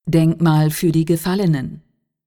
Denkmal für die Gefallenen.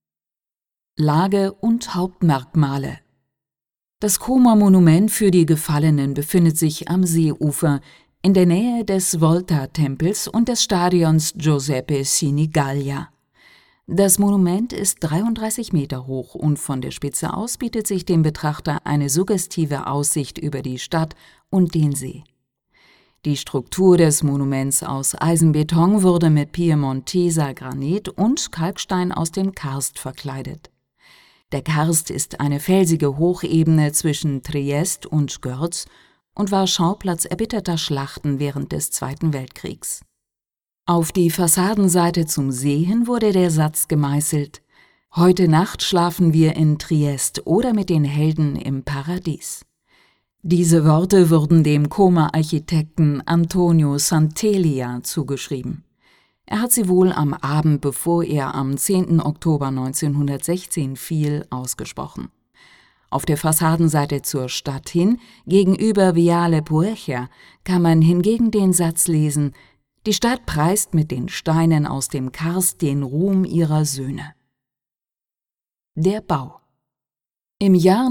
Lage und Hauptmerkmale. Das Koma-Monument für die Gefallenen befindet sich am Seeufer in der Nähe des Volta-Tempels und des Stadions Giuseppe Sinigaglia. Das Monument ist 33 Meter hoch und von der Spitze aus bietet sich dem Betrachter eine suggestive Aussicht über die Stadt und den See. Die Struktur des Monuments aus Eisenbeton wurde mit Piemonteser Granit und Kalkstein aus dem Karst verkleidet. Der Karst ist eine felsige Hochebene zwischen Triest und Görz und war Schauplatz erbitterter Schlachten während des Zweiten Weltkriegs. Auf die Fassadenseite zum See hin wurde der Satz gemeißelt: »Heute Nacht schlafen wir in Triest oder mit den Helden im Paradies.« Diese Worte wurden dem Koma-Architekten Antonio Santeglia zugeschrieben. Er hat sie wohl am Abend, bevor er am 10. Oktober 1916 fiel, ausgesprochen. Auf der Fassadenseite zur Stadt hin, gegenüber Viale Puercia, kann man hingegen den Satz lesen: »Die Stadt preist mit den Steinen aus dem Karst den Ruhm ihrer Söhne.« Der Bau. Im Jahr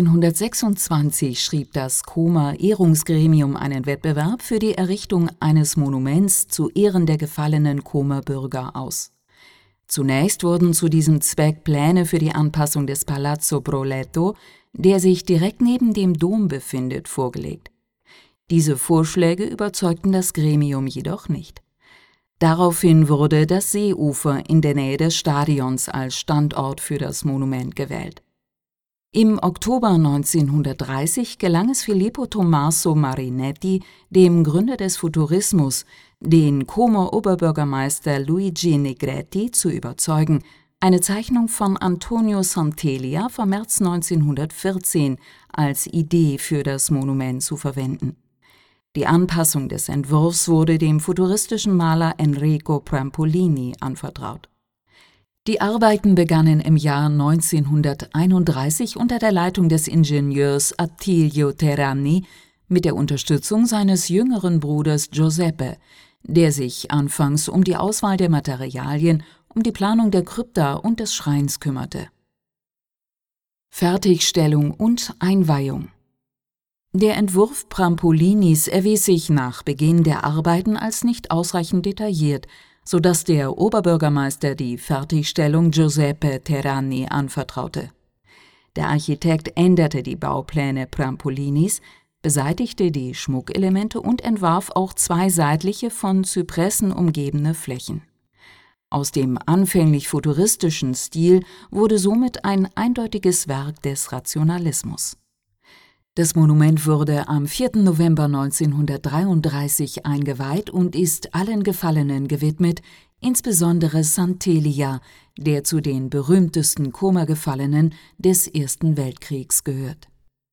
1926 schrieb das Koma-Ehrungsgremium einen Wettbewerb für die Errichtung eines Monuments zu Ehren der gefallenen Koma-Bürger aus. Zunächst wurden zu diesem Zweck Pläne für die Anpassung des Palazzo Broletto, der sich direkt neben dem Dom befindet, vorgelegt. Diese Vorschläge überzeugten das Gremium jedoch nicht. Daraufhin wurde das Seeufer in der Nähe des Stadions als Standort für das Monument gewählt. Im Oktober 1930 gelang es Filippo Tommaso Marinetti, dem Gründer des Futurismus, den Como-Oberbürgermeister Luigi Negretti zu überzeugen, eine Zeichnung von Antonio Santeglia vom März 1914 als Idee für das Monument zu verwenden. Die Anpassung des Entwurfs wurde dem futuristischen Maler Enrico Prampolini anvertraut. Die Arbeiten begannen im Jahr 1931 unter der Leitung des Ingenieurs Attilio Terrani mit der Unterstützung seines jüngeren Bruders Giuseppe, der sich anfangs um die Auswahl der Materialien, um die Planung der Krypta und des Schreins kümmerte. Fertigstellung und Einweihung. Der Entwurf Prampolinis erwies sich nach Beginn der Arbeiten als nicht ausreichend detailliert, sodass der Oberbürgermeister die Fertigstellung Giuseppe Terrani anvertraute. Der Architekt änderte die Baupläne Prampolinis, beseitigte die Schmuckelemente und entwarf auch zwei seitliche von Zypressen umgebene Flächen. Aus dem anfänglich futuristischen Stil wurde somit ein eindeutiges Werk des Rationalismus. Das Monument wurde am 4. November 1933 eingeweiht und ist allen Gefallenen gewidmet, insbesondere Santeglia, der zu den berühmtesten Koma-Gefallenen des Ersten Weltkriegs gehört.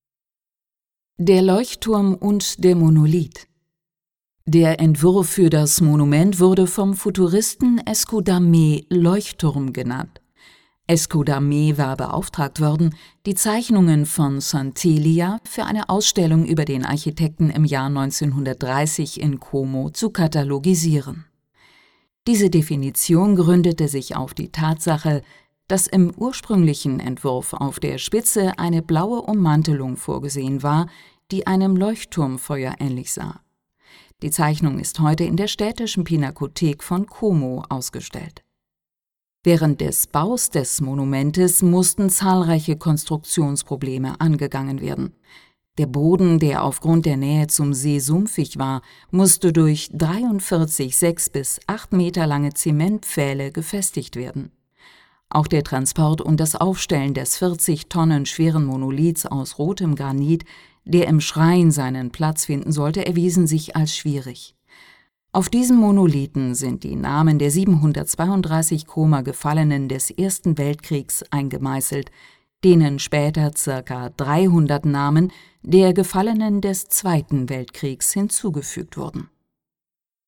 Der Leuchtturm und der Monolith. Der Entwurf für das Monument wurde vom Futuristen Escudamé Leuchtturm genannt. Escudamé war beauftragt worden, die Zeichnungen von Santeglia für eine Ausstellung über den Architekten im Jahr 1930 in Como zu katalogisieren. Diese Definition gründete sich auf die Tatsache, dass im ursprünglichen Entwurf auf der Spitze eine blaue Ummantelung vorgesehen war, die einem Leuchtturmfeuer ähnlich sah. Die Zeichnung ist heute in der Städtischen Pinakothek von Como ausgestellt. Während des Baus des Monumentes mussten zahlreiche Konstruktionsprobleme angegangen werden. Der Boden, der aufgrund der Nähe zum See sumpfig war, musste durch 43 6 bis 8 Meter lange Zementpfähle gefestigt werden. Auch der Transport und das Aufstellen des 40 Tonnen schweren Monoliths aus rotem Granit, der im Schrein seinen Platz finden sollte, erwiesen sich als schwierig. Auf diesem Monolithen sind die Namen der 732 Koma-Gefallenen des Ersten Weltkriegs eingemeißelt, denen später ca. 300 Namen der Gefallenen des Zweiten Weltkriegs hinzugefügt wurden.